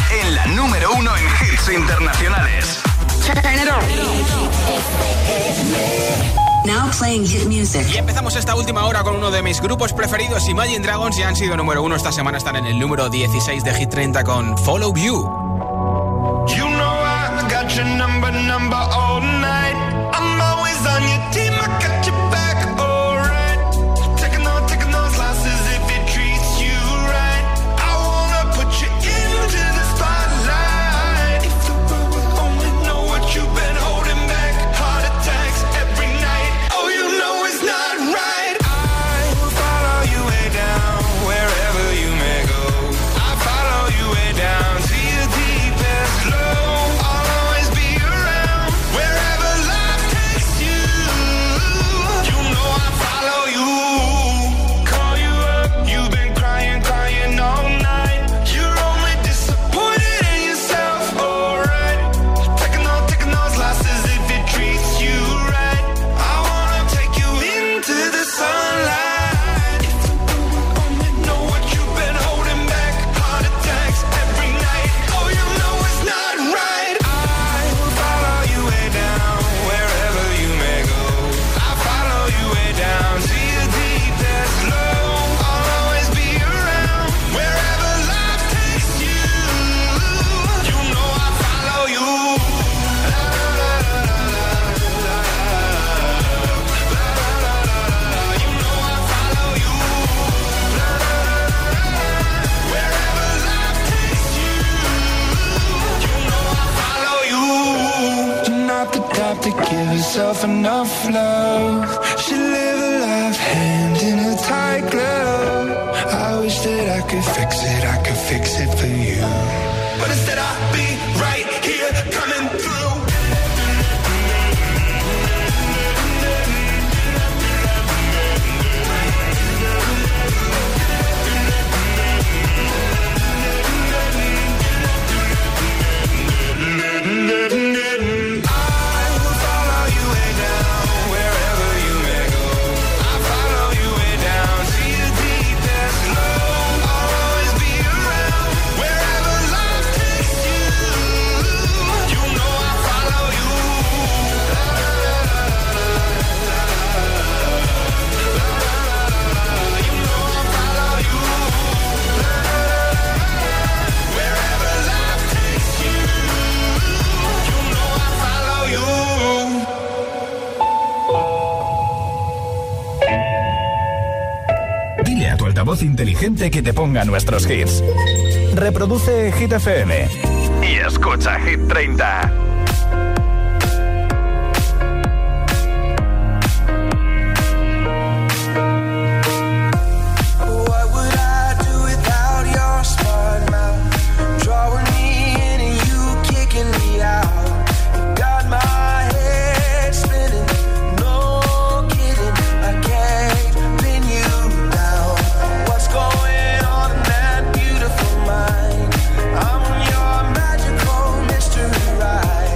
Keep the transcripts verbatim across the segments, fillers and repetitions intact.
en la número uno en hits internacionales. Turn it on. Now playing hit music. Y empezamos esta última hora con uno de mis grupos preferidos, Imagine Dragons, ya han sido número uno esta semana, están en el número dieciséis de Hit treinta con Follow You. You know I got your number, number all night. I'm always on your team, I got your back, alright. Taking on, taking those losses if it treats you right. I wanna put you into the spotlight. If the world would only know what you've been holding back. Heart attacks every night. Oh, you know it's not right. I will follow you way down, wherever you may go. I follow you way down to your deepest low. I'll always be around, wherever life takes you. You know I follow you. Call you up, you've been crying, crying all night. You're only disappointed in yourself, alright. Taking on, taking those losses if it treats you right. I wanna take you into the sunlight. If the world would only know what you've been holding back. Heart attacks every night. Oh, you know it's not right. I will follow you way down, wherever you may go. I follow you way down to your deepest low. I'll always be around, wherever life takes you. You know I follow you. You know I follow you. Wherever life takes you. You know I follow you. You're not the type to give yourself enough love. Should live a life hand in a tight glove. I wish that I could fix it, I could fix it for you. But instead I'll be right here coming through. I will follow you way down, wherever you may go. I follow you way down to your deepest low. I'll always be around, wherever life takes you. You know I follow you. You know I follow you. Wherever life takes you. You know I follow you. Dile a tu altavoz inteligente que te ponga nuestros hits. Reproduce Hit F M y escucha Hit treinta. What would I do without your smart mouth? Drawing me in and you kicking me out. You got my head spinning, no kidding. I can't pin you down. What's going on in that beautiful mind? I'm on your magical mystery ride.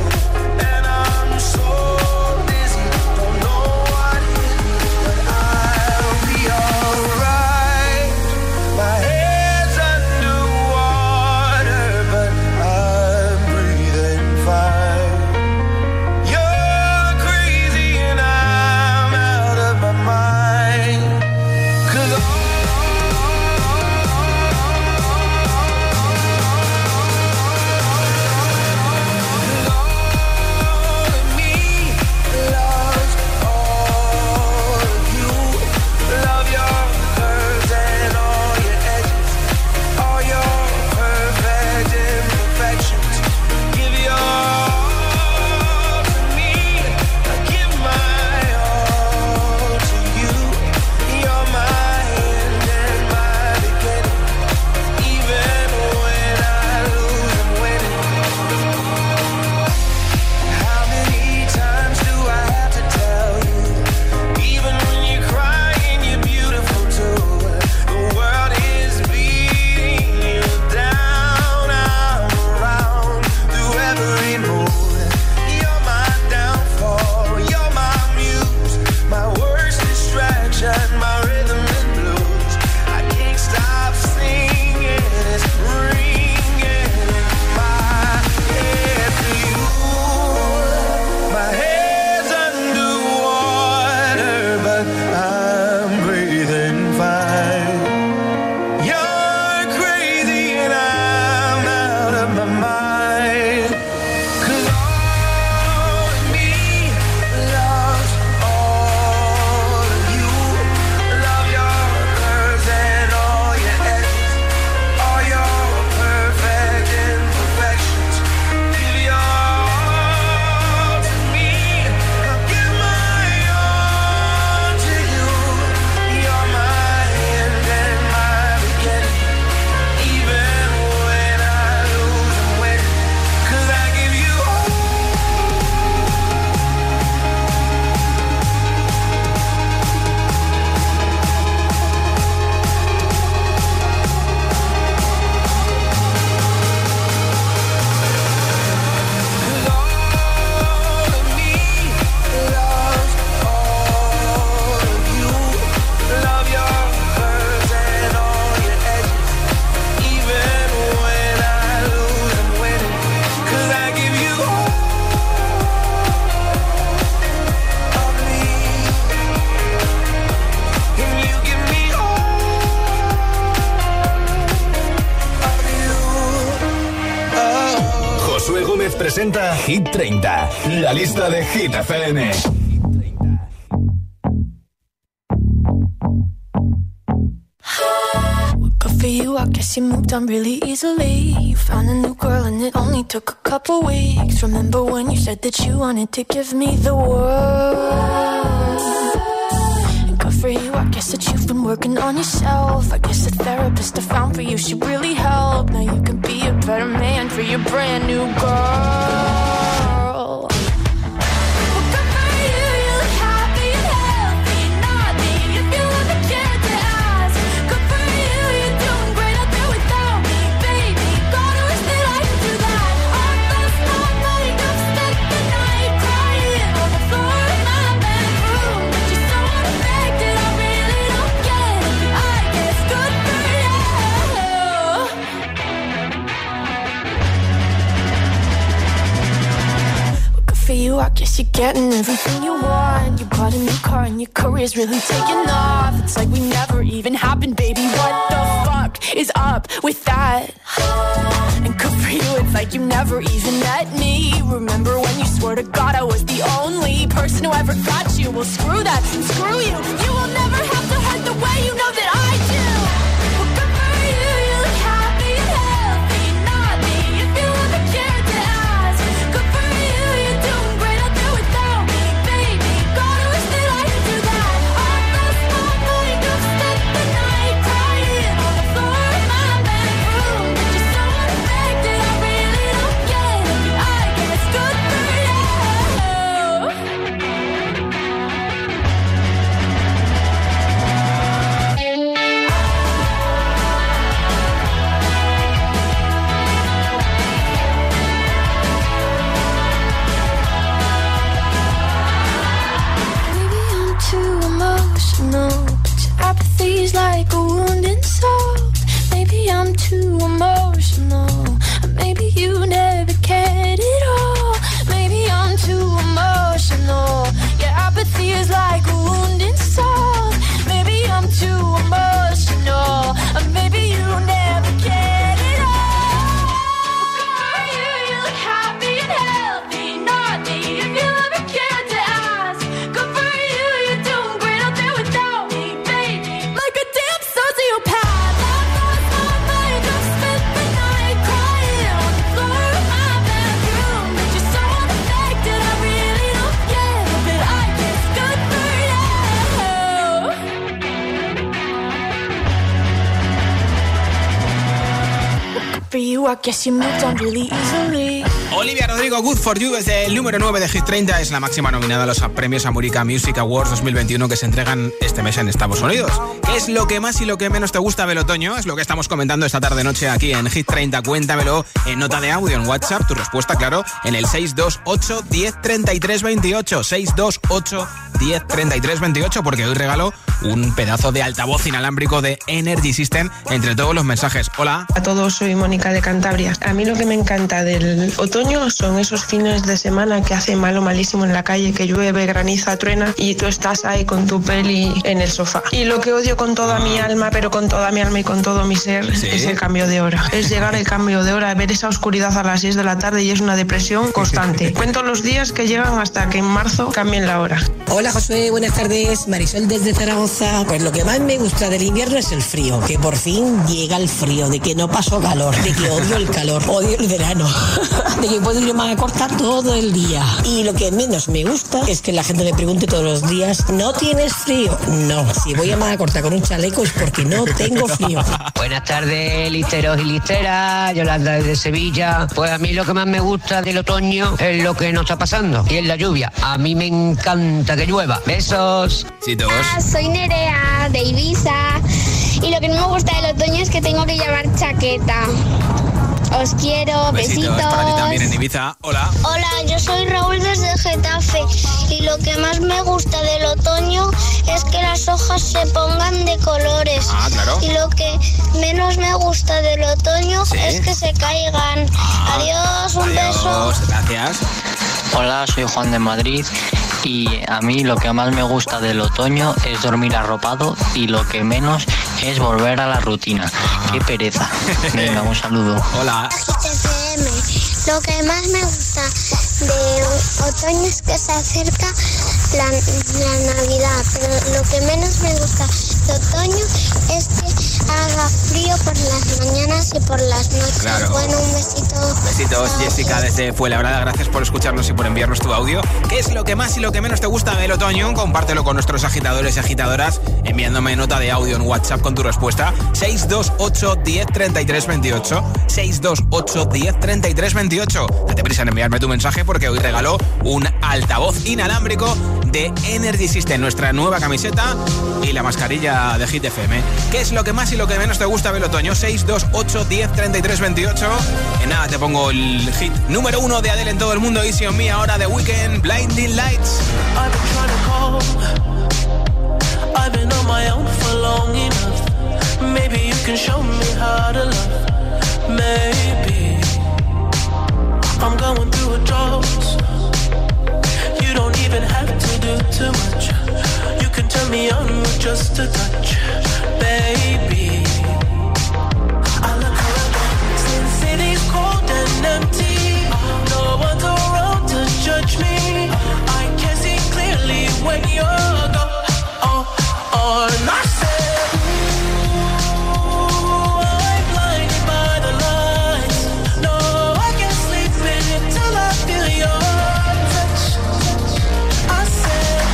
Gómez presenta Hit treinta, la lista de Hit F M. Good for you, I guess you moved on really easily. You found a new girl and it only took a couple weeks. Remember when you said that you wanted to give me the world? And good for you, I guess that you've been working on yourself. I guess the therapist I found for you should really help. Now you can be a better man for your brand new girl. You, I guess you're getting everything you want. You bought a new car and your career's really taking off. It's like we never even happened, baby. What the fuck is up with that? And good for you, it's like you never even met me. Remember when you swore to God I was the only person who ever got you? Well, screw that, screw you. You will never have to hurt the way you know that I do. Well, good for you, you look happy and healthy. Not me, if you ever cared to ask. Good for you, you're doing great out there without me, baby. God, I wish that I could do that. I lost my mind, I've spent the night crying on the floor of my bedroom. But you're so unaffected, I really don't get it. I guess good for you. Maybe I'm too emotional, but your apathy's like a wounded soul. Maybe I'm too emotional, or maybe you never cared at all. Maybe I'm too emotional, your apathy is like a wounded soul. Maybe I'm too emotional, or maybe you never cared at all. Good for you, you look happy and healthy. Not me, if you ever cared to ask. Good for you, you're doing great out there without me, baby. Like a damn sociopath. I lost my mind, I've spent the night crying on the floor of my bedroom. But you're so unaffected, I really don't get it. But I guess good for you. Good for you, I guess you moved on really easily. Olivia Rodrigo, Good For You, desde el número nueve de Hit treinta, es la máxima nominada a los premios America Music Awards dos mil veintiuno que se entregan este mes en Estados Unidos. ¿Qué es lo que más y lo que menos te gusta del otoño? Es lo que estamos comentando esta tarde-noche aquí en Hit treinta. Cuéntamelo en nota de audio en WhatsApp, tu respuesta, claro, en el seis dos ocho, diez, treinta y tres veintiocho. seis dos ocho, diez, treinta y tres veintiocho, porque hoy regalo un pedazo de altavoz inalámbrico de Energy System entre todos los mensajes. Hola. A todos, soy Mónica de Cantabria. A mí lo que me encanta del otoño son esos fines de semana que hace malo malísimo en la calle, que llueve, graniza, truena y tú estás ahí con tu peli en el sofá. Y lo que odio con toda mi alma, pero con toda mi alma y con todo mi ser, ¿sí?, es el cambio de hora. Es llegar el cambio de hora, ver esa oscuridad a las seis de la tarde y es una depresión constante. Cuento los días que llegan hasta que en marzo cambien la hora. Hola Josué, buenas tardes. Marisol desde Zaragoza. Pues lo que más me gusta del invierno es el frío, que por fin llega el frío, de que no paso calor, de que odio el calor, odio el verano, de que puedo ir más a cortar todo el día. Y lo que menos me gusta es que la gente me pregunte todos los días, ¿no tienes frío? No, si voy a más a cortar con un chaleco es porque no tengo frío. Buenas tardes, listeros y listeras, Yolanda desde Sevilla. Pues a mí lo que más me gusta del otoño es lo que nos está pasando, y es la lluvia. A mí me encanta que llueva. Besos. Sí, todos. Hola, soy Nerea de Ibiza y lo que no me gusta del otoño es que tengo que llevar chaqueta. Os quiero, besitos. Besitos para ti también en Ibiza. Hola. Hola, yo soy Raúl desde Getafe y lo que más me gusta del otoño es que las hojas se pongan de colores. Ah, claro. Y lo que menos me gusta del otoño, ¿sí?, es que se caigan. Ah, adiós, un adiós, beso. Gracias. Hola, soy Juan de Madrid y a mí lo que más me gusta del otoño es dormir arropado y lo que menos es volver a la rutina. Qué pereza. Venga, un saludo. Hola. Lo que más me gusta de otoño es que se acerca la, la Navidad, pero lo que menos me gusta de otoño es que haga frío por las mañanas y por las noches. Claro. Bueno, un besito. Besitos, Jessica, desde Fuenlabrada. Gracias por escucharnos y por enviarnos tu audio. ¿Qué es lo que más y lo que menos te gusta del otoño? Compártelo con nuestros agitadores y agitadoras enviándome nota de audio en WhatsApp con tu respuesta. seis dos ocho, diez, treinta y tres, veintiocho. seis dos ocho, diez, treinta y tres, veintiocho. Date prisa en enviarme tu mensaje porque hoy regalo un altavoz inalámbrico de Energy System, nuestra nueva camiseta y la mascarilla de Hit F M. ¿Qué es lo que más y lo que menos te gusta del otoño? seis dos ocho, diez, treinta y tres, veintiocho. En nada te pongo el hit número uno de Adele en todo el mundo, Easy on Me, ahora de Weekend, Blinding Lights. I've been trying to call, I've been on my own for long enough. Maybe you can show me how to love. Maybe I'm going through a drought. You don't even have to do too much. You can turn me on with just a touch, baby. I look around, since city's cold and empty, no one's around to judge me. I can see clearly when you're gone. Oh, oh, and I said, ooh, I'm blinded by the lights. No, I can't sleep until I feel your touch. I said,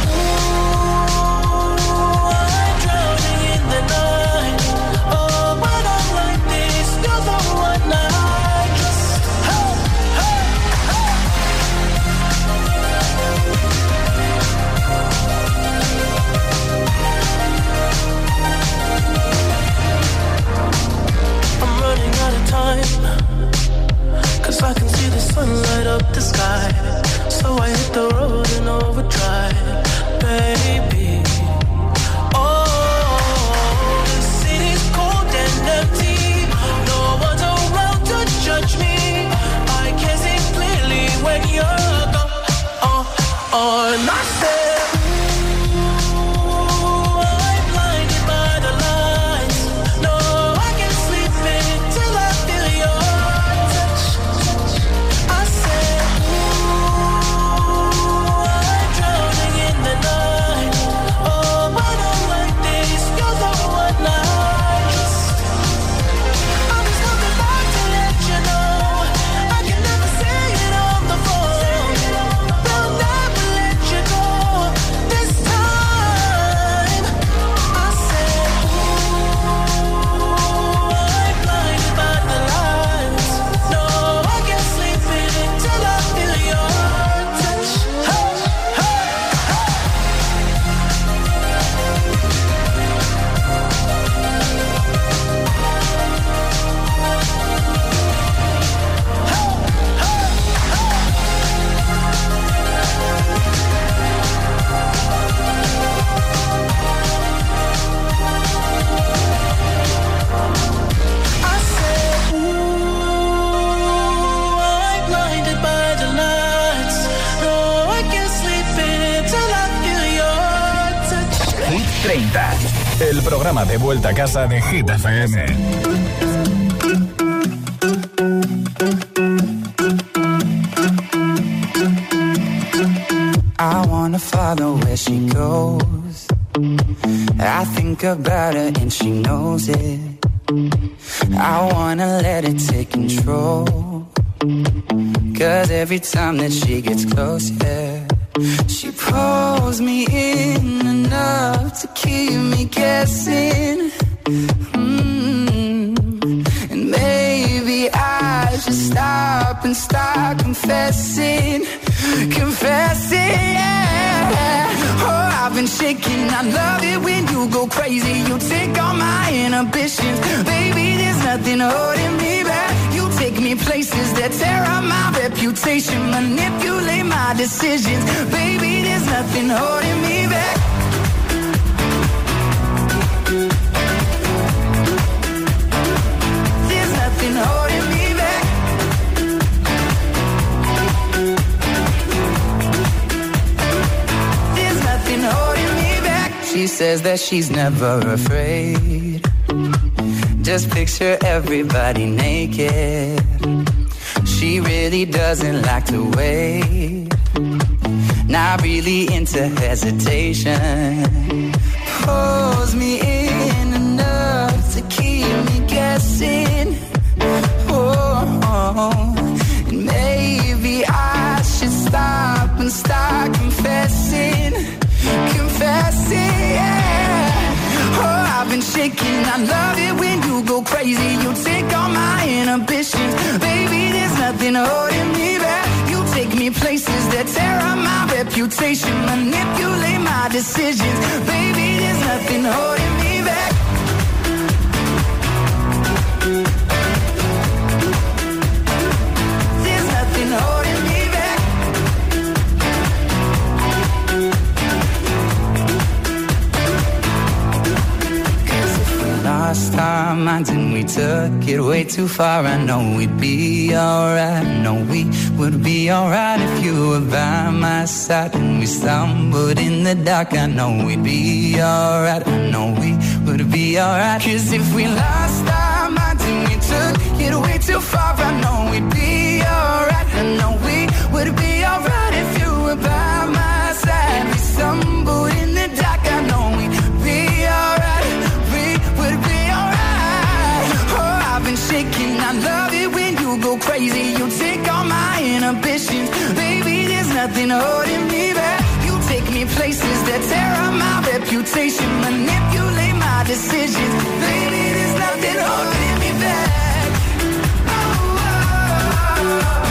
ooh, I'm drowning in the night. Oh, when I'm like this, you're the one I trust. Hey, hey, hey. I'm running out of time, 'cause I can see the sun light up the sky. So I hit the road in overdrive, baby. Oh, the city's cold and empty. No one's around to judge me. I can see clearly when you're gone. Oh, oh, and I said, ooh, I'm blinded by the lights. No, I can't sleep until I feel your touch. I said, ooh, I'm drowning in the night. Oh, when I'm like this, you're the one I trust. I'm just coming back to let you know I can never say it on the phone. They'll never let you go this time. I said, ooh, I'm blinded by the lights. No, I can't sleep until I feel your touch. Hey, hey, I said, ooh, I'm blinded by the lights. No, I can't sleep until I feel your touch. Hit treinta, el programa de vuelta a casa de Hit F M. I wanna follow where she goes. I think about her and she knows it. I wanna let it take control. 'Cause every time that she gets close, yeah, she pulls me in enough to keep me guessing. Mm. And maybe I should stop and start confessing. Confessing, yeah. Oh, I've been shaking. I love it when you go crazy. You take all my inhibitions. Baby, there's nothing holding me back. You take me places that tear up my reputation. Manipulate my decisions. Baby, there's nothing holding me back. There's nothing holding me back. says that she's never afraid. Just picture everybody naked. She really doesn't like to wait. Not really into hesitation. Pulls me in enough to keep me guessing. Oh, oh. And maybe I should stop and start confessing. Confessing, yeah. Oh, I've been shaking. I love it when you go crazy. You take all my inhibitions. Baby, there's nothing holding me back. You take me places that tear up my reputation. Manipulate my decisions. Baby, there's nothing holding me back. There's nothing holding me back. Lost our minds and we took it way too far. I know we'd be alright. I know we would be alright if you were by my side. And we stumbled in the dark. I know we'd be alright. I know we would be alright. Cause if we lost our minds and we took it way too far, I know we'd be alright. I know we would be alright if you were by my side. We stumbled in the dark. I know we'd be alright. Shaking, I love it when you go crazy. You take all my inhibitions. Baby, there's nothing holding me back. You take me places that tear up my reputation. Manipulate my decisions. Baby, there's nothing holding me back. Oh, oh, oh.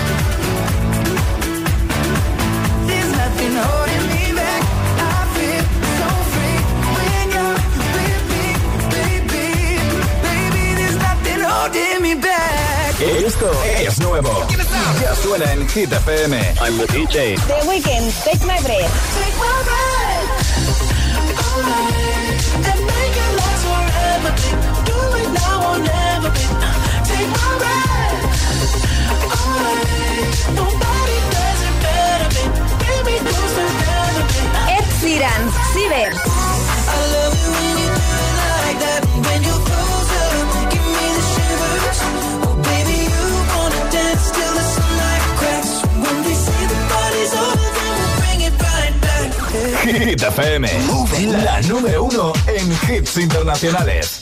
There's nothing holding me back. I feel so free when you're with me, baby. Baby, there's nothing holding me back. Esto es nuevo. Ya suena en Hit F M. I'm the D J. The Weeknd, Take My Breath. Take my breath away and make it last forever. Do it now or never. Take my breath away. Nobody does it better. Baby, close together. Ed Sheeran, Ciber. I love it when you do it like that. When you close up, give me the shivers. Oh, baby, you wanna dance till the sunlight cracks. When they say the party's over, then we'll bring it right back. Hit F M, la número uno en hits internacionales.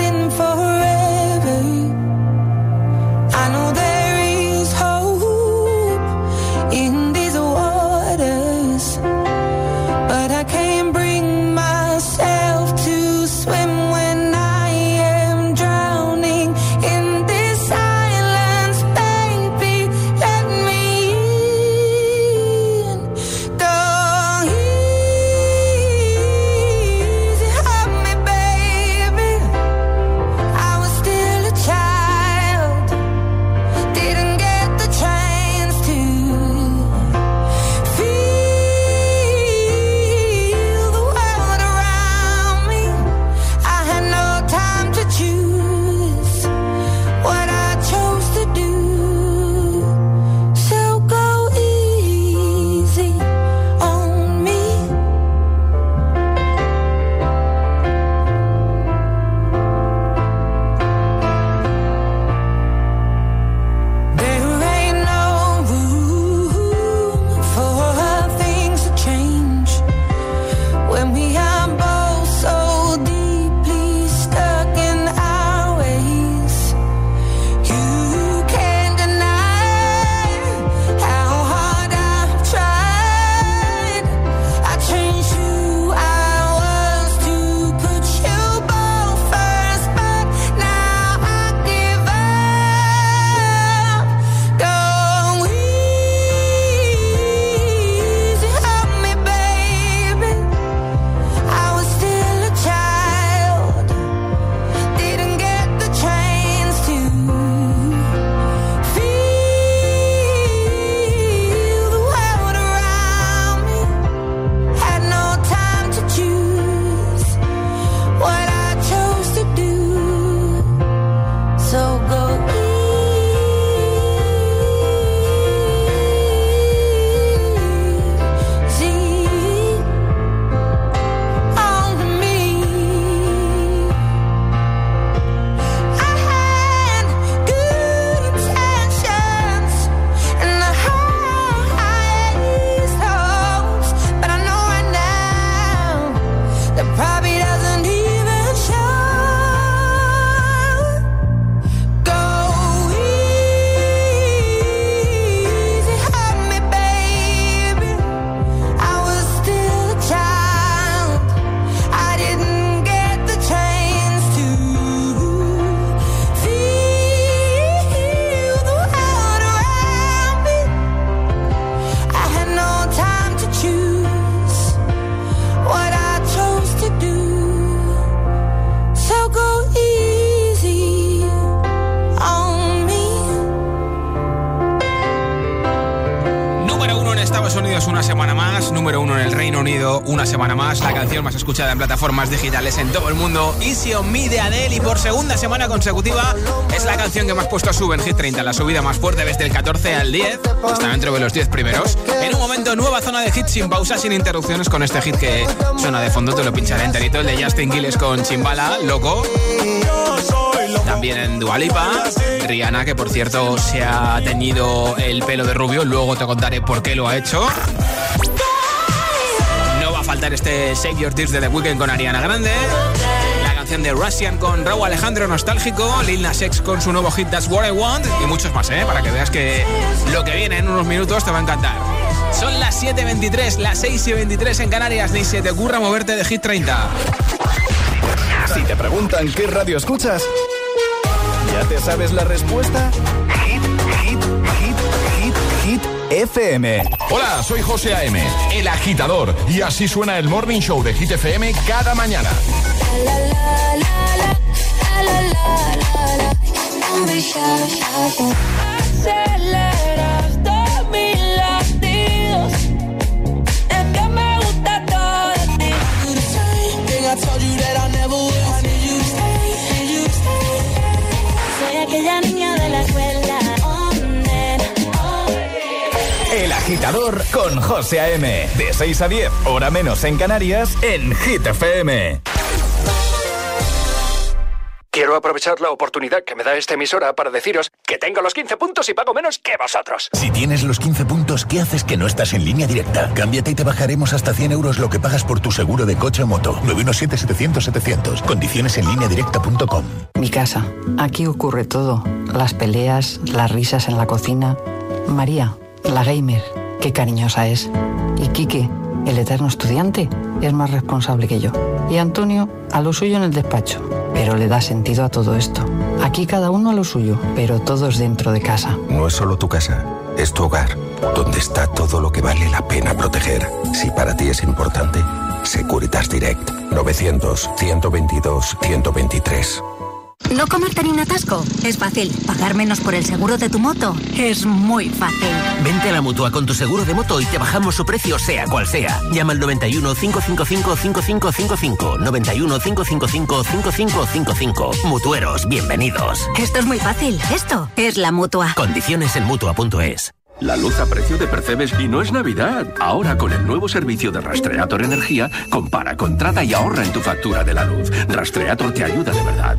I know there is hope. sonando una semana más la canción más escuchada en plataformas digitales en todo el mundo, Easy on Me de Adele, y por segunda semana consecutiva es la canción que más puestos sube en Hit treinta, la subida más fuerte desde el catorce al diez, está dentro de los diez primeros. En un momento, nueva zona de hits sin pausa, sin interrupciones, con este hit que suena de fondo, te lo pincharé enterito, el de Justin Quiles con Chimbala, Loco. También en Dua Lipa, Rihanna, que por cierto se ha teñido el pelo de rubio, luego te contaré por qué lo ha hecho. No va a faltar este Shake Your Tears de The Weeknd con Ariana Grande, la canción de Russian con Raúl Alejandro nostálgico, Lil Nas X con su nuevo hit That's What I Want, y muchos más, ¿eh? Para que veas que lo que viene en unos minutos te va a encantar. Son las siete y veintitrés, las seis y veintitrés en Canarias, ni se te ocurra moverte de Hit treinta. Si te preguntan qué radio escuchas, ¿ya te sabes la respuesta? Hit, hit, hit, hit, hit F M. Hola, soy José A M, el agitador, y así suena el Morning Show de Hit F M cada mañana. Aceleras mis latidos, es que me gusta todo de ti. I told you that I never would. I need you to stay, need you to stay. Soy aquella niña de la escuela. Oh, nena, oh. El agitador con José A M. De seis a diez, hora menos en Canarias, en Hit F M. Quiero aprovechar la oportunidad que me da esta emisora para deciros que tengo los quince puntos y pago menos que vosotros. Si tienes los quince puntos, ¿qué haces que no estás en Línea Directa? Cámbiate y te bajaremos hasta cien euros lo que pagas por tu seguro de coche o moto. nueve uno siete, setecientos, setecientos. Condiciones en línea directa punto com. Mi casa. Aquí ocurre todo. Las peleas, las risas en la cocina. María, la gamer, qué cariñosa es. Y Quique, el eterno estudiante, es más responsable que yo. Y Antonio, a lo suyo en el despacho. Pero le da sentido a todo esto. Aquí cada uno a lo suyo, pero todos dentro de casa. No es solo tu casa, es tu hogar, donde está todo lo que vale la pena proteger. Si para ti es importante, Securitas Direct. novecientos, ciento veintidós, ciento veintitrés. ¿No comerte ni un atasco? Es fácil. ¿Pagar menos por el seguro de tu moto? Es muy fácil. Vente a la Mutua con tu seguro de moto y te bajamos su precio sea cual sea. Llama al noventa y uno, cinco cinco cinco, cinco cinco cinco cinco. noventa y uno, cinco cinco cinco, cinco cinco cinco cinco. Mutueros, bienvenidos. Esto es muy fácil. Esto es la Mutua. Condiciones en Mutua punto es. La luz a precio de Percebes y no es Navidad. Ahora con el nuevo servicio de Rastreator Energía, compara, contrata y ahorra en tu factura de la luz. Rastreator te ayuda de verdad.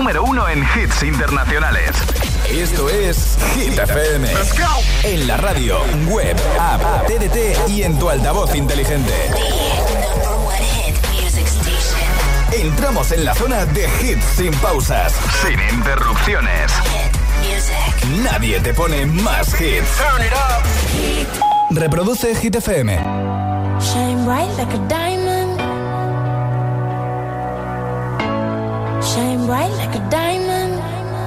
número uno en hits internacionales. Esto es Hit F M. Let's go. En la radio, web, app, T D T y en tu altavoz inteligente. Entramos en la zona de hits sin pausas, sin interrupciones. Nadie te pone más hits. Turn it up. Reproduce Hit F M. Shine bright like a diamond. Shine bright like a diamond.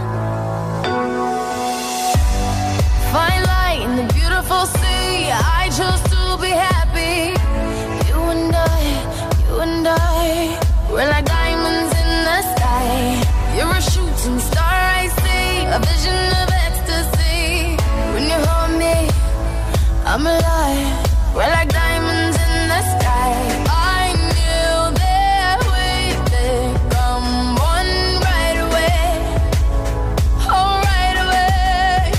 Fine light in the beautiful sea. I chose to be happy. You and I, you and I, we're like diamonds in the sky. You're a shooting star, I see. A vision of ecstasy. When you hold me, I'm alive. We're like diamonds in the sky. I knew that we'd become one right away. Oh, right away.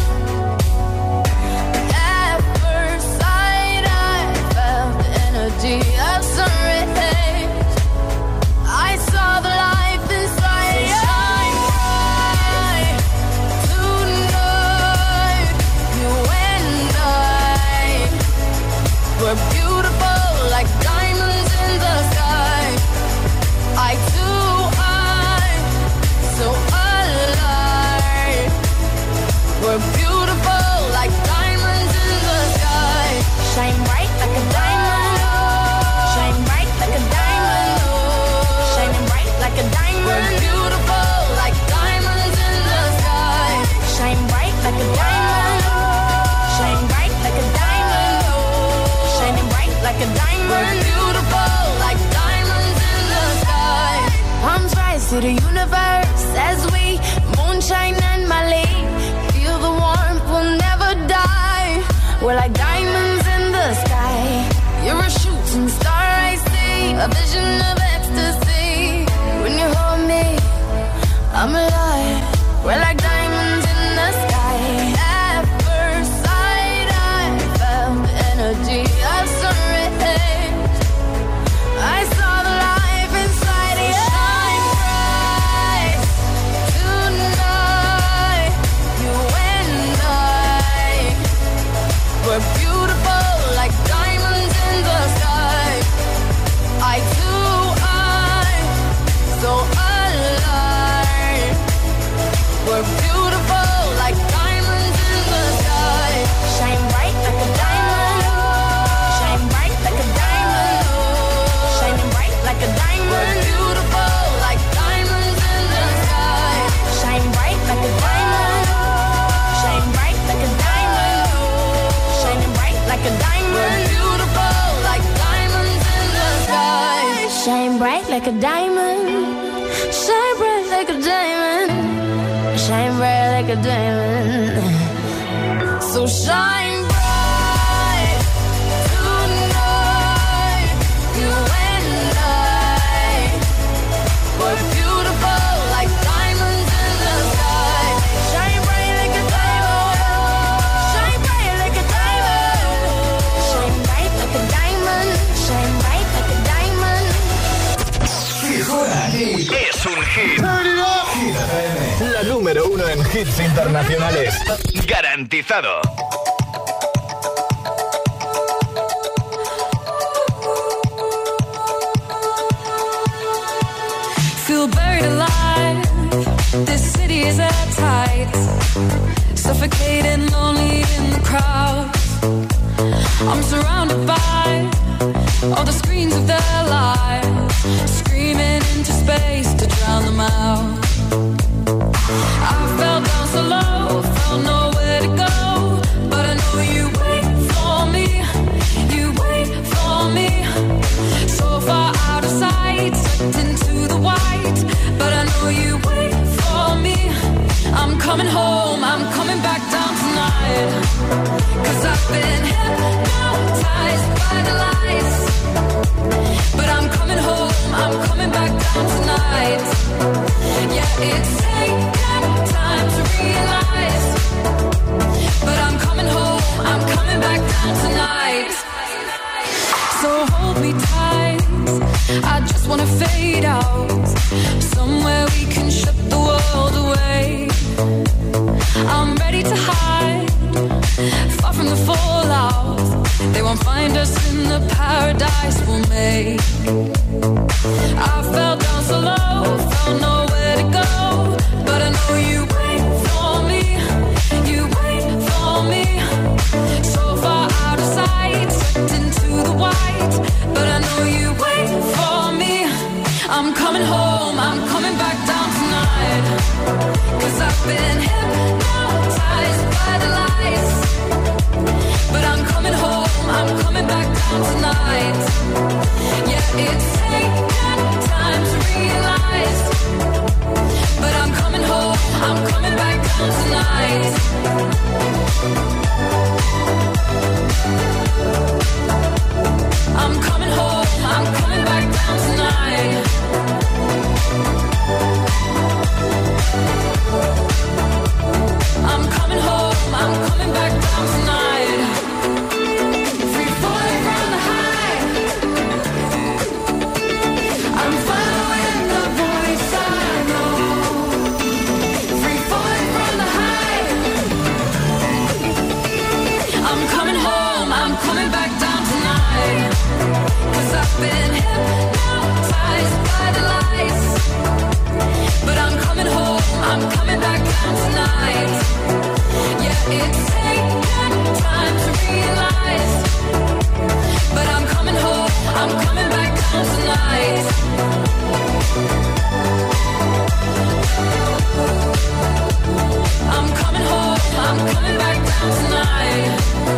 At first sight, I felt the energy of sun rays. I saw the life inside. So shine bright tonight. You and I, we're beautiful like diamonds in the sky. I too, I, so alive. We're beautiful like diamonds in the sky. Shine bright like a diamond. Shine bright like a diamond. Shining bright like a diamond. We're beautiful like diamonds in the sky. Shine bright like a diamond. Shine bright like a diamond. Shining bright like a diamond. We're beautiful like diamonds in the sky. Palms rise to the universe as we moonshine and Mali. Feel the warmth, we'll never die. We're like diamonds in the sky. You're a shooting star, I see. A vision of ecstasy. When you hold me, I'm alive. We're like diamonds in the sky. At first sight, I felt the energy of sun rays. I saw the life inside you. Shine bright tonight. You and I, we're beautiful like diamonds in the sky. I too, I, so alive. We're beautiful like diamonds in the sky. Shine bright like a diamond. Shine bright like a diamond. Shining bright like a diamond. We're beautiful like diamonds in the sky. Shine bright like a diamond. Shine bright like a diamond. Shining bright like a diamond. We're beautiful like diamonds in the sky. Shine bright like a diamond. Shine bright like a diamond. Shine bright like a diamond. So shine bright tonight. You and I, we're beautiful like diamonds in the sky. Shine bright like a diamond. Shine bright like a diamond. Shine bright like a diamond. Shine bright like a diamond. Si suena aquí, es un hit. Hit F M, la número uno en hits internacionales. Garantizado. Feel buried alive. This city is at tight. Suffocating, lonely in the crowd. I'm surrounded by all the screens of their lives, screaming into space to drown them out. I fell down so low, felt nowhere to go, but I know you wait for me, you wait for me. So far out of sight, sucked into the white, but I know you wait for me. I'm coming home, I'm coming back down tonight, 'cause I've been hypnotized by the lights. But I'm coming home, I'm coming back down tonight. Yeah, it's taken time to realize, but I'm coming home, I'm coming back down tonight. So hold me tight, I just wanna fade out, somewhere we can shut the world find us in the paradise we'll make. I fell down so low, found nowhere to go, but I know you wait for me, you wait for me. So far out of sight, sucked into the white, but I know you wait for me. I'm coming home, I'm coming back down tonight, 'cause I've been hypnotized by the lights. But I'm coming home, I'm coming back down tonight. Yeah, it's taken time to realize, but I'm coming home, I'm coming back down tonight. I'm coming home, I'm coming back down tonight. I'm coming home, I'm coming back down tonight. Free falling from the high, I'm following the voice I know. Free falling from the high, I'm coming home, I'm coming back down tonight. 'Cause I've been hypnotized by the lights, but I'm coming home, I'm coming back down tonight. Yeah, it's taken time to realize, but I'm coming home, I'm coming back down tonight. I'm coming home, I'm coming back down tonight.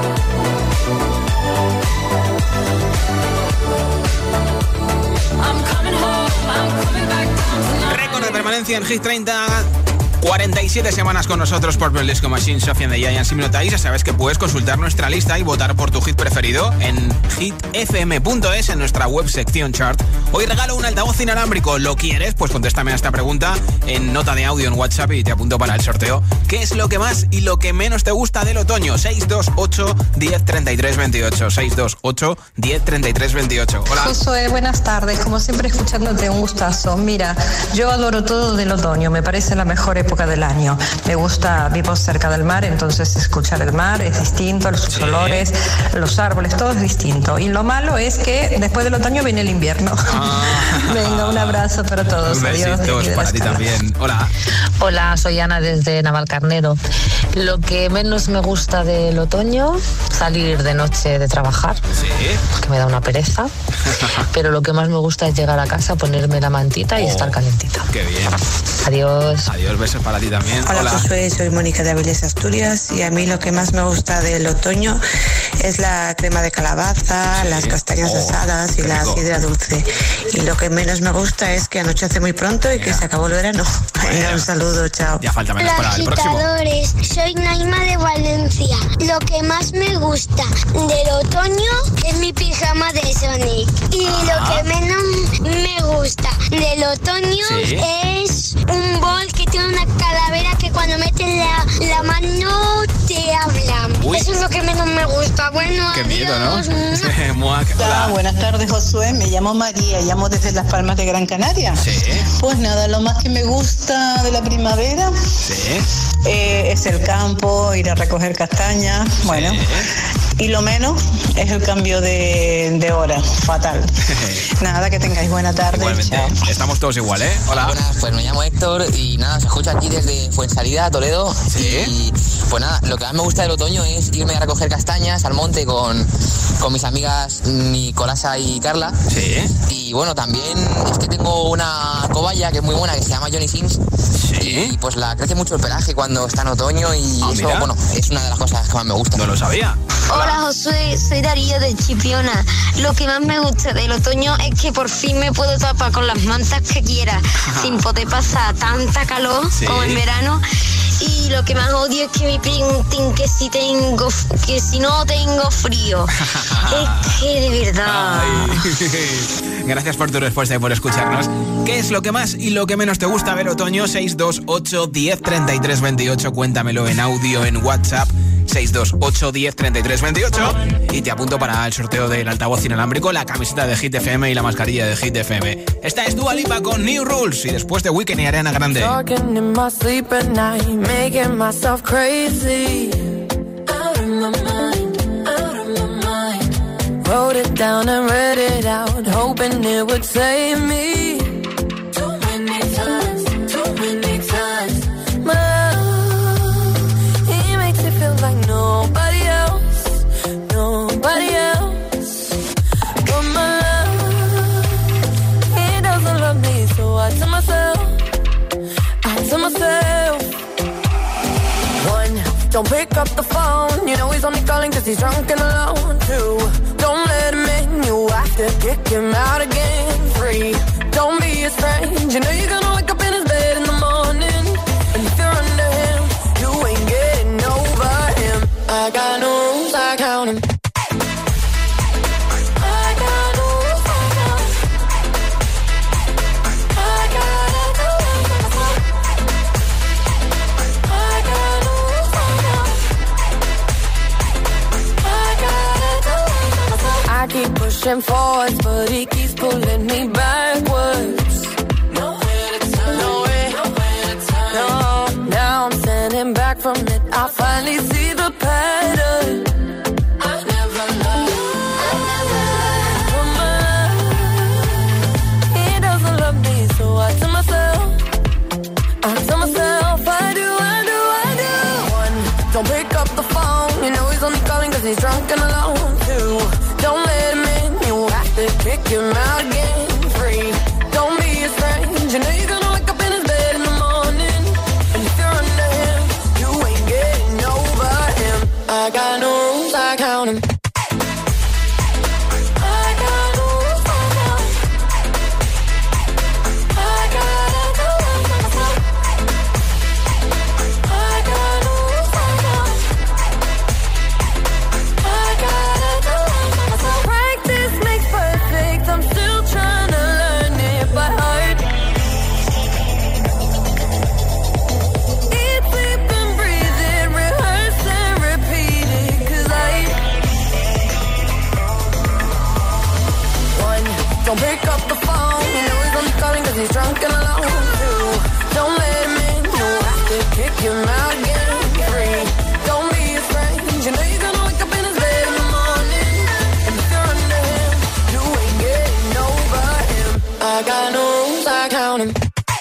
I'm coming home, I'm coming back down tonight. Récord de permanencia en Hit treinta. cuarenta y siete semanas con nosotros por Purple Disco Machine, Sofía and the Giants. Si me notáis, ya sabes que puedes consultar nuestra lista y votar por tu hit preferido en hit f m punto es, en nuestra web sección chart. Hoy regalo un altavoz inalámbrico. ¿Lo quieres? Pues contéstame a esta pregunta en nota de audio en WhatsApp y te apunto para el sorteo. ¿Qué es lo que más y lo que menos te gusta del otoño? seis dos ocho, diez, treinta y tres, veintiocho. seis dos ocho, diez, treinta y tres, veintiocho. Hola. Josué, buenas tardes. Como siempre, escuchándote, un gustazo. Mira, yo adoro todo del otoño. Me parece la mejor época del año. Me gusta, vivo cerca del mar, entonces escuchar el mar es distinto, sus sí. olores, los árboles, todo es distinto. Y lo malo es que después del otoño viene el invierno. Ah. Venga, un abrazo para todos. Besitos. Adiós. Para ti también. Hola. Hola, soy Ana desde Navalcarnero. Lo que menos me gusta del otoño, salir de noche de trabajar, sí. que me da una pereza. Pero lo que más me gusta es llegar a casa, ponerme la mantita y oh, estar calentita. Qué bien. Adiós. Adiós, besos para ti también. Hola, Hola. Josué, soy Mónica de Avilés, Asturias, y a mí lo que más me gusta del otoño es la crema de calabaza, sí. las castañas oh, asadas y la rico. sidra dulce. Y lo que menos me gusta es que anochece muy pronto y yeah. que se acabó el verano. Venga, un saludo, chao. Ya falta menos para el próximo. Agitadores, soy Naima de Valencia. Lo que más me gusta del otoño es mi pijama de Sonic. Y ah. lo que menos me gusta del otoño ¿Sí? es un bol que tiene una calavera que cuando metes la, la mano te habla. Uy. Eso es lo que menos me gusta. Bueno, qué adiós. miedo, ¿no? Hola, buenas tardes, Josué. Me llamo María, llamo desde Las Palmas de Gran Canaria. Sí. Pues nada, lo más que me gusta de la primavera sí. eh, es el campo, ir a recoger castañas. Sí. Bueno, y lo menos es el cambio de, de hora. Fatal. Nada, que tengáis buena tarde. Igualmente. Chao. Estamos todos igual, ¿eh? Hola. Buenas, pues me llamo Héctor y nada, se escucha aquí desde Fuensalida, Toledo. Sí. Y pues nada, lo que más me gusta del otoño es irme a recoger castañas al monte con, con mis amigas Nicolasa y Carla. Sí. Y bueno, también es que tengo una cobaya que es muy buena, que se llama Johnny Sims. Sí. Y pues la crece mucho el pelaje cuando está en otoño y ah, eso, mira. bueno, es una de las cosas que más me gusta. No lo sabía. Hola, Hola Josué, soy Darío de Chipiona. Lo que más me gusta del otoño es que por fin me puedo tapar con las mantas que quiera, sin poder pasar tanta calor sí. como en verano. Y lo que más odio es que me pregunten que si tengo, que si no tengo frío. Es que de verdad. Ay. Gracias por tu respuesta y por escucharnos. ¿Qué es lo que más y lo que menos te gusta del otoño? seis dos ocho, diez, treinta y tres, veintiocho. Cuéntamelo en audio en WhatsApp. seis dos ocho, diez, treinta y tres, veintiocho. Y te apunto para el sorteo del altavoz inalámbrico, la camiseta de Hit F M y la mascarilla de Hit F M. Esta es Dua Lipa con New Rules y después de Weekend y Ariana Grande. Talking in my sleep at night, making myself crazy. Out of my mind, out of my mind. Wrote it down and read it out, hoping it would save me. Too many times, too many times. My love, he makes it feel like nobody else, nobody else. But my love, he doesn't love me, so I tell myself, I tell myself. One, don't pick up the phone, you know he's only calling cause he's drunk and alone. Two, don't let him in, you have to kick him out again. Three, don't be his friend, you know you're gonna wake up in his bed in the morning. And if you're under him, you ain't getting over him. I got no rules, I count him. I got no rules, I count him. I gotta do it myself. I got no rules, I count him. I gotta do it myself. I keep pushing forwards, but he keeps pulling me backwards. Nowhere to turn, nowhere, nowhere to turn. No, now I'm standing back from it. I finally see the pattern. I never loved, I never loved. He doesn't love me, so I tell myself, I tell myself, I do, I do, I do. One, don't pick up the phone, you know he's only calling cause he's drunk and alone. Two, don't let him in, you have to kick him out again. Three, don't be his friend, you know you're gonna wake up in his bed in the morning. And if you're under him, you ain't getting over him. I got no rules, I count him. I got no rules, I count him. I gotta do it myself. I got no rules, I count him. I gotta do it myself. Practice makes perfect, I'm still trying to learn it by heart. Eat, sleep and breathe it, rehearse and repeat it, cause I One, don't pick up the phone, you know he's only calling cause he's drunk and alone. Two, don't let him in, you have to kick him out again. Three, don't be his friend, you know you're gonna wake up in his bed in the morning. And if you're under him, you ain't getting over him. I got no rules, I count him.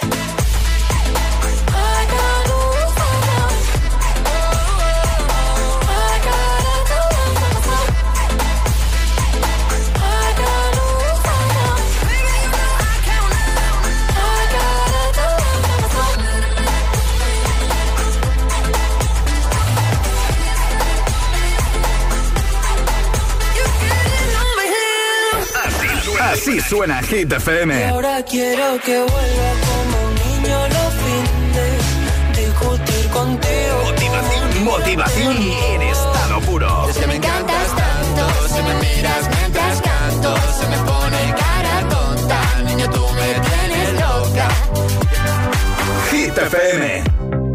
I got no rules, I count him. I gotta do it myself. I got no rules, I count him. I gotta do it myself. You getting over him. Así, así suena Hit F M. Y ahora quiero que vuelva como un niño los fines, discutir contigo. Motivación, motivación en estado puro. Es que me encantas tanto, si me miras mientras canto, se me pone cara tonta, niño tú me tienes loca. Hit F M.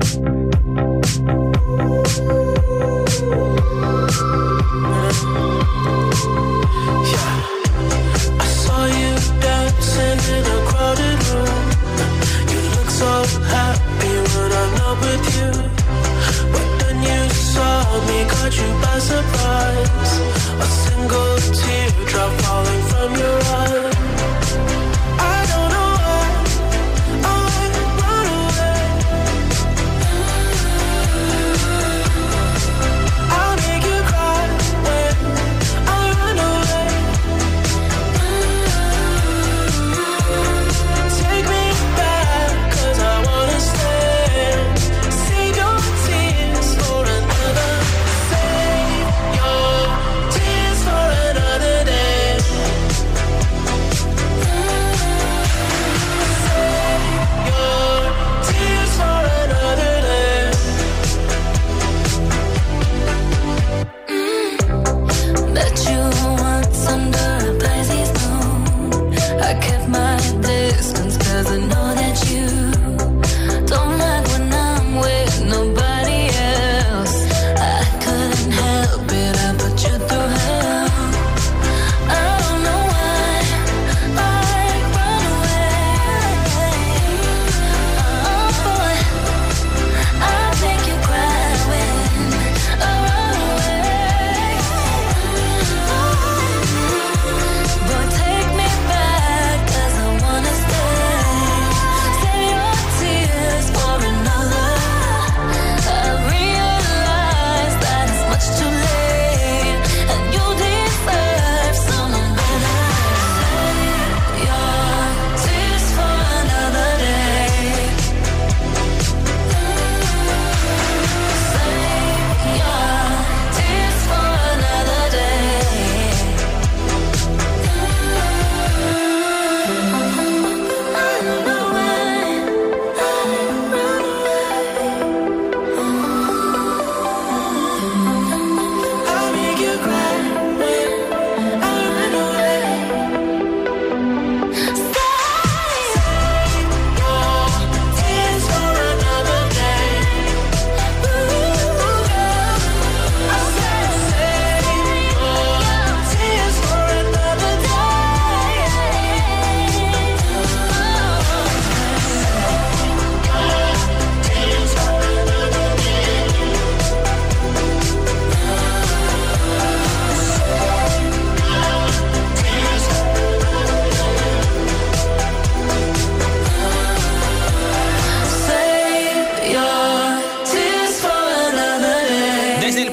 I saw you dancing in a crowded room. You look so happy when I'm not with you. But then you saw me, caught you by surprise. A single tear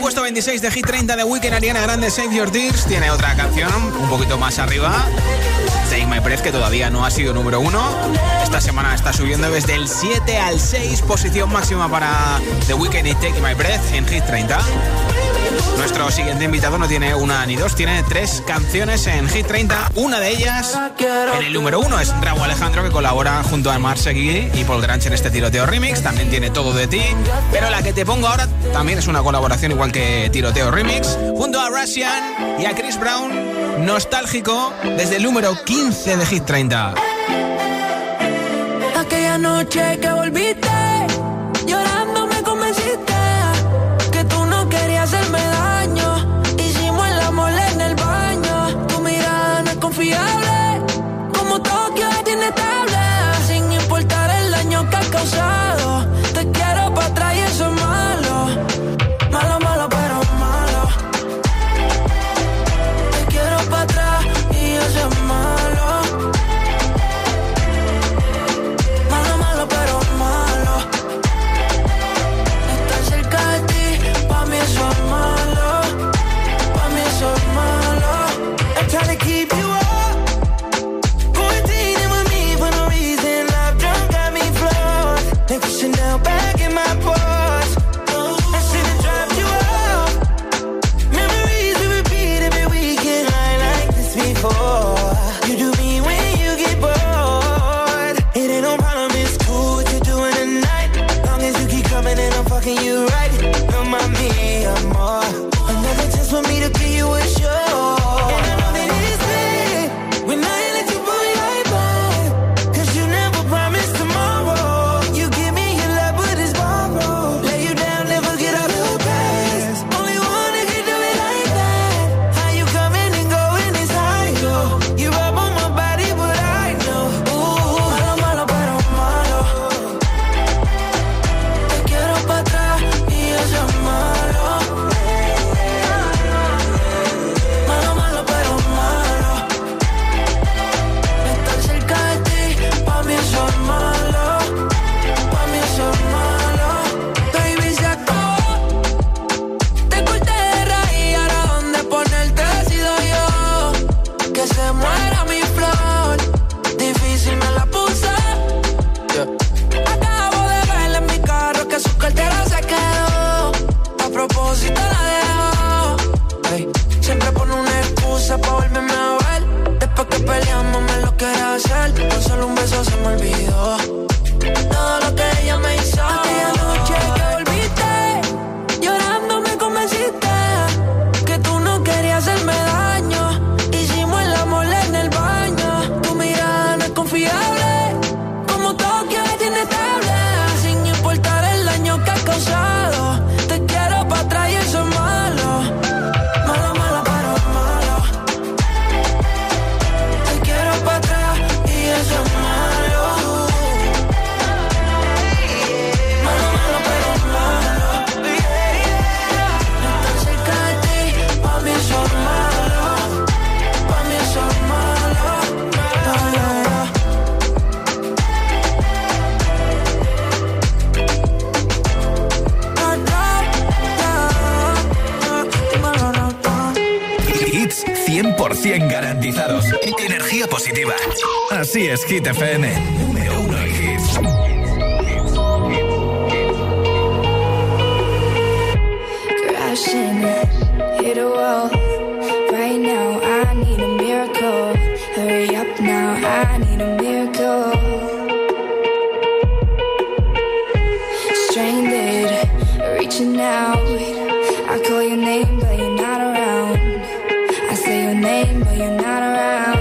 puesto veintiséis de Hit treinta de Weekend, Ariana Grande, Save Your Tears. Tiene otra canción un poquito más arriba, Take My Breath, que todavía no ha sido número uno. Esta semana está subiendo desde el siete al seis, posición máxima para The Weeknd y Take My Breath en Hit treinta. Nuestro siguiente invitado no tiene una ni dos, tiene tres canciones en Hit treinta. Una de ellas en el número uno es Rauw Alejandro, que colabora junto a Mar Seguí y Paul Grange en este Tiroteo Remix. También tiene Todo de Ti, pero la que te pongo ahora también es una colaboración igual que Tiroteo Remix, junto a Russian y a Chris Brown. Nostálgico, desde el número quince de Hit treinta. Aquella noche que volviste, llorando me convenciste que tú no querías hacerme daño. Hicimos el amor en el baño. Tu mirada no es confiable, como Tokio es inestable. Sin importar el daño que has causado, te quiero para atrás y eso es malo. Malo, malo, pero malo. Te quiero para atrás y eso es malo. Malo, malo, pero malo. Estar cerca de ti, pa' mí eso es malo. Pa' mí eso es malo. I'm trying to keep you up, quarantining with me for no reason. Love drunk got me flawed. Take the Chanel back in my purse. I should've dropped you off. Memories we repeat every weekend. I ain't like this before. You do me when you get bored. It ain't no problem, it's cool what you're doing tonight. Long as you keep coming and I'm fucking you right. No mami, amor. Another chance for me to give you a show. And I know that it's bad when I let you pull your back. Cause you never promised tomorrow. You give me your love but it's borrowed. Lay you down, never get out of past. Only one that can do it like that. How you coming and going is high, yo. You rub on my body but I know. Ooh, malo, malo, pero malo. Te quiero pa' atrás y eso es malo. Malo, malo, pero malo. Estar cerca de ti, pa' mí eso es malo. Pa' mí eso es malo. Baby, se acabó. Te corté de raíz, ahora dónde ponerte decido yo. Que se muera mi flor. Difícil me la puse. Acabo de verle en mi carro que su cartera se quedó. A propósito la dejó. Ey, siempre pone una excusa pa' volverme a ver. Después que peleamos me lo quiere hacer. Con solo un beso se me olvidó todo lo que ella me hizo. Aquella noche que volviste, llorando me convenciste que tú no querías hacerme daño. Hicimos el amor en el baño. Tu mirada no es confiable, como Tokio es inestable. Sin importar el daño que has causado, te quiero pa' atrás y eso es malo. Malo, malo, pero malo. Te quiero pa' atrás y eso es malo. Malo, malo, pero malo. Estar cerca de ti, pa' mí eso es malo. Pa' mí eso es malo. No, no, no. Hits cien por ciento garantizados. Energía positiva. Así es, Hit F M. Número uno en hits. Crashing, hit a wall. Right now, I need a miracle. Hurry up now, I need a miracle. Stranded, reaching out. I call your name, but you're not around. I say your name, but you're not around.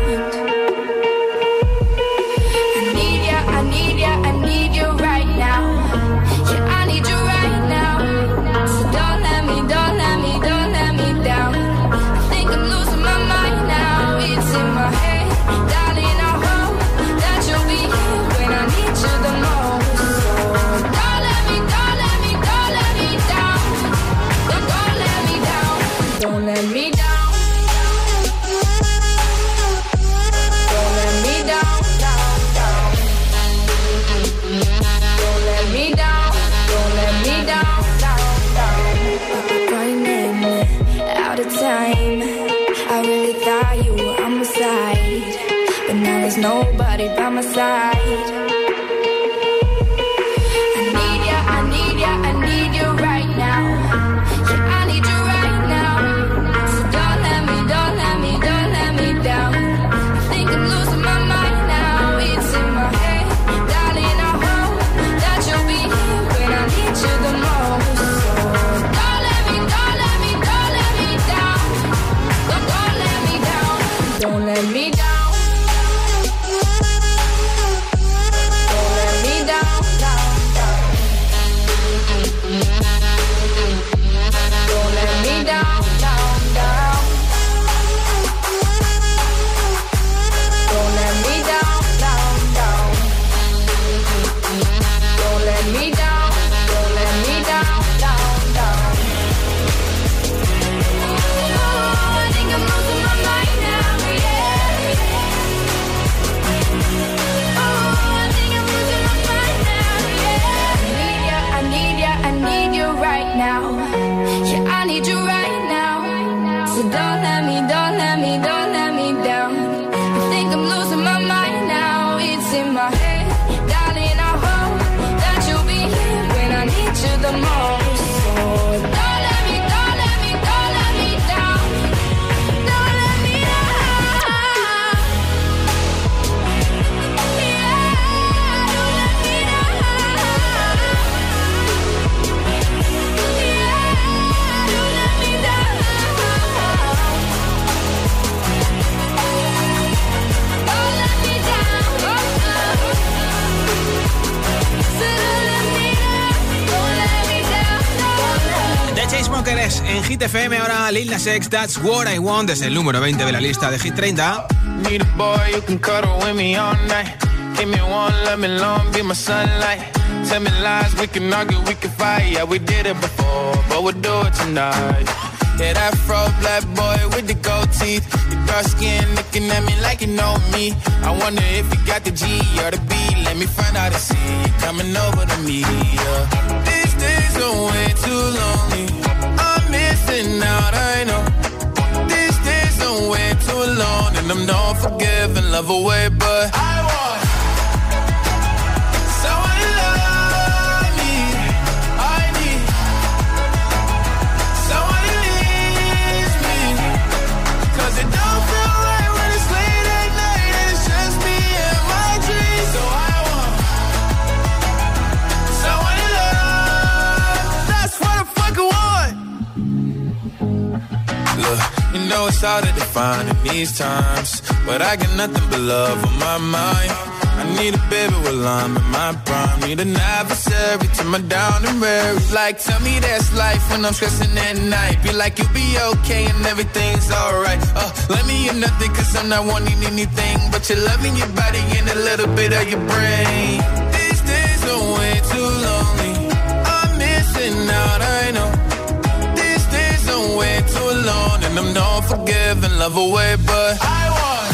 I need ya, I need ya, I need you right now. Yeah, I need you right now. So don't let me, don't let me, don't let me down. I think I'm losing my mind now. It's in my head, darling, I hope that you'll be here when I need you the most. So don't let me, don't let me, don't let me down. nobody by my side. I need ya, I need ya, I need you right now. Yeah, I need you right now. So don't let me, don't let me, don't let me down. I think I'm losing my mind now. It's in my head, darling, I hope that you'll be here when I need you the most. So don't let me, don't let me, don't let me down. Don't, don't let me down. Don't let me down. En Hit F M ahora Lil Nas X, That's What I Want, es el número veinte de la lista de Hit treinta. Need a boy you can cuddle with me all night. Give me one, let me long, be my sunlight. Tell me lies, we can argue, we can fight. Yeah, we did it before, but we'll do it tonight. Yeah, that fro black boy with the gold teeth. Your dark skin looking at me like you know me. I wonder if you got the G or the B. Let me find out and see you coming over to me. Yeah. These days are way too lonely. I'm missing out, I know. These days are way too long, and I'm not forgiving, love away, but I want someone to love me. I need someone who needs me, 'cause it don't feel right when it's late at night and it's just me and my dreams. So I want someone to love. That's what I fucking want. Look, you know it's hard to define in these times, but I got nothing but love on my mind. I need a baby while I'm in my prime. Need an adversary to my down and weary. Like, tell me that's life when I'm stressing at night. Be like, you'll be okay and everything's alright. Uh, let me in nothing 'cause I'm not wanting anything but your love in your body and a little bit of your brain. These days are way too lonely. I'm missing out, I know. These days are way too long, and I'm not forgiving, love away, but I want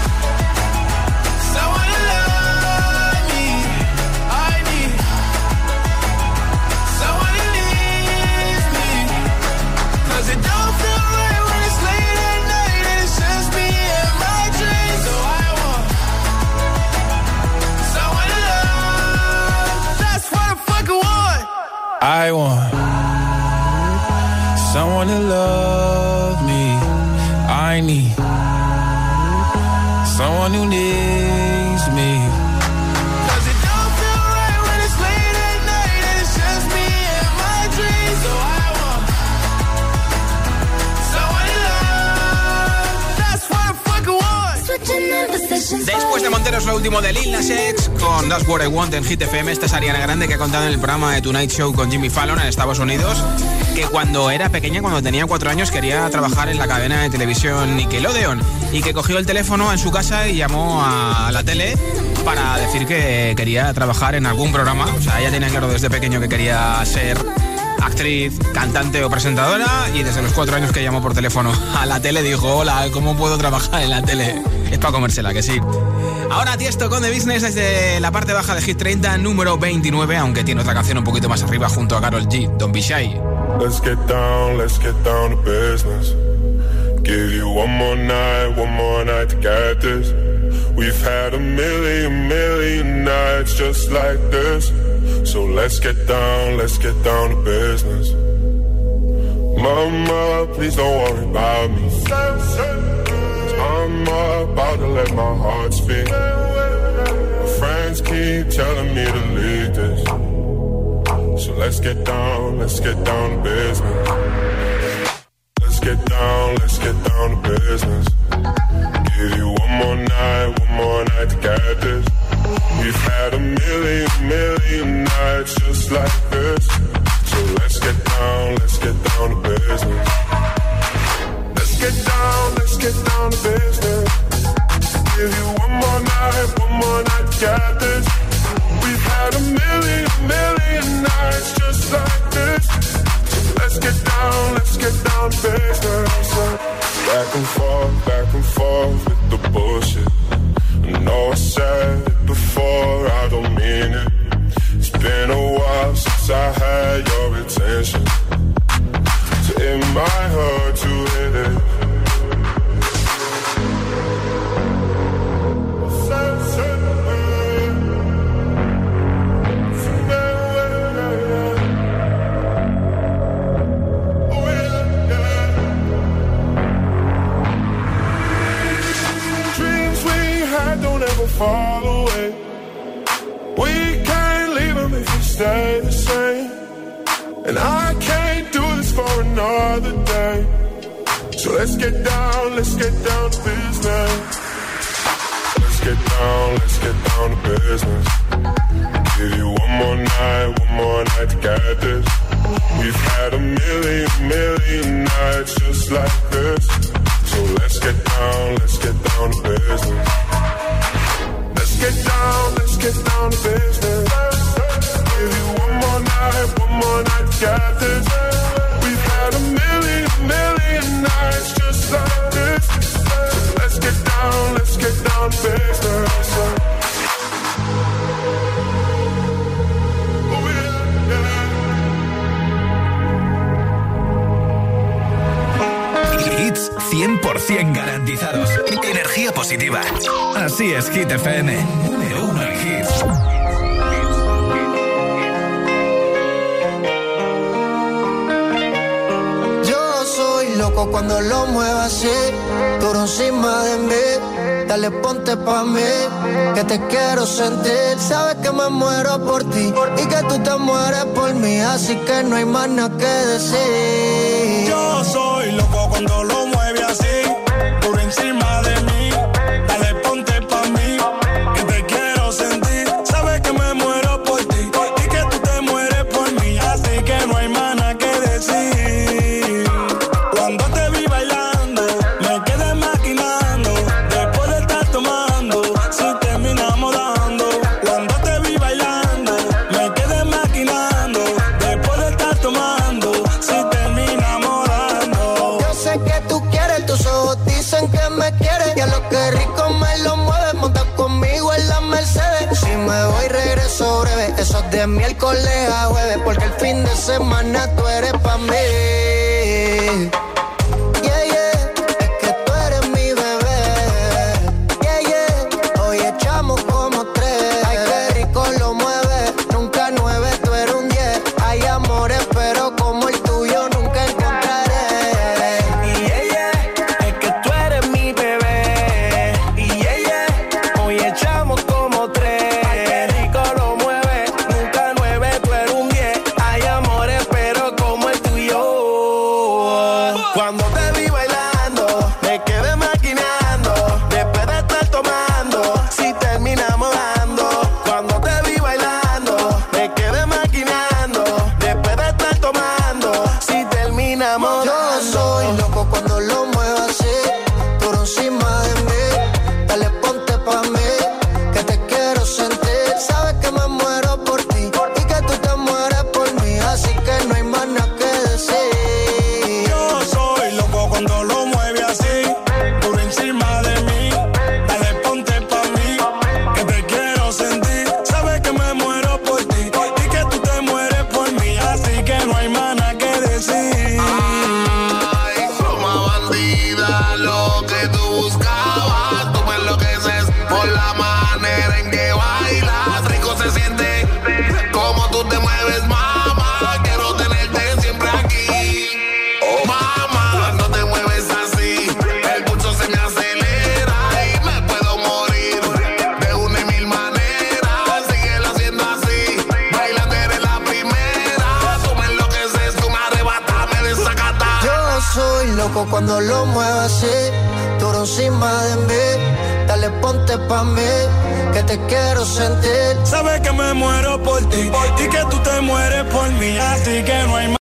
someone to love me. I need someone who needs me, 'cause it don't feel right when it's late at night and it's just me and my dreams. So I want someone to love. That's what I fucking want. I want someone to love me. I need someone who needs me, 'cause it don't feel right when it's late at night and it's just me and my dreams. So I want someone to love. That's what I fucking want. Después de Monteros, lo último de Lil Nas X con That's What I Want en Hit F M. Esta es Ariana Grande, que ha contado en el programa de Tonight Show con Jimmy Fallon en Estados Unidos que cuando era pequeña, cuando tenía cuatro años, quería trabajar en la cadena de televisión Nickelodeon, y que cogió el teléfono en su casa y llamó a la tele para decir que quería trabajar en algún programa. O sea, ella tenía claro desde pequeño que quería ser actriz, cantante o presentadora, y desde los cuatro años que llamó por teléfono a la tele dijo: hola, ¿cómo puedo trabajar en la tele? Es para comérsela, que sí. Ahora Tiesto con The Business desde la parte baja de Hit treinta, número veintinueve, aunque tiene otra canción un poquito más arriba junto a Karol G, Don't Be Shy. Let's get down, let's get down to business. Give you one more night, one more night to get this. We've had a million, million nights just like this. So let's get down, let's get down to business. Mama, please don't worry about me. I'm about to let my heart speak. My friends keep telling me to leave this. So let's get down, let's get down to business. Let's get down, let's get down to business. Give you one more night, one more night to get this. We've had a million, million nights just like this. So let's get down, let's get down to business. Let's get down, let's get down to business. Give you one more night, one more night to get this. We've had a million, million nights just like this. So let's get down, let's get down to business. Back and forth, back and forth with the bullshit. I know I said it before, I don't mean it. It's been a while since I had your attention. So it might hurt to hit it. Fall away. We can't leave them if we stay the same. And I can't do this for another day. So let's get down, let's get down to business. Let's get down, let's get down to business. Give you one more night, one more night to get this. We've had a million, million nights just like this. So let's get down, let's get down to business. Let's get down, let's get down to business. Give you one more night, one more night to get this. We've had a million, million nights just like this. So let's get down, let's get down to business. Oh yeah, yeah. Hits cien por ciento garantizados. Energía positiva. Así es, Hit F M. Número uno en hits. Yo soy loco cuando lo muevo así, duro encima de mí. Dale, ponte pa' mí, que te quiero sentir. Sabes que me muero por ti y que tú te mueres por mí, así que no hay más nada que decir. Yo soy loco cuando lo mueve así, duro encima de mí. Dale, ponte pa' mí, que te quiero sentir. Sabes que me muero por ti y que tú te mueres por mí, así que no hay más nada que decir. Cuando te vi bailando, me quedé maquinando. Después de estar tomando, si terminamos dando. Cuando te vi bailando, me quedé maquinando. Después de estar tomando, si terminamos dando. Yo sé que tú quieres, tus ojos dicen que me quieres. Y a lo que rico me lo mueve, monta conmigo en la Mercedes. Si me voy regreso breve, eso es de miércoles a jueves, porque el fin de semana tú eres pa' mí. Yeah, yeah, es que tú eres mi bebé. Yeah, yeah, hoy echamos como tres. Ay, qué rico lo mueve, nunca nueve, tú eres un diez. Hay amores, pero como el tuyo nunca encontraré. Y yeah, yeah, es que tú eres mi bebé. Y yeah, yeah, hoy echamos como tres. Ay, qué rico lo mueve, nunca nueve, tú eres un diez. Hay amores, pero como el tuyo. loco cuando lo muevas así, duro encima de mí. Dale, ponte pa' mí, que te quiero sentir. Sabes que me muero por ti y que tú te mueres por mí, así que no hay más.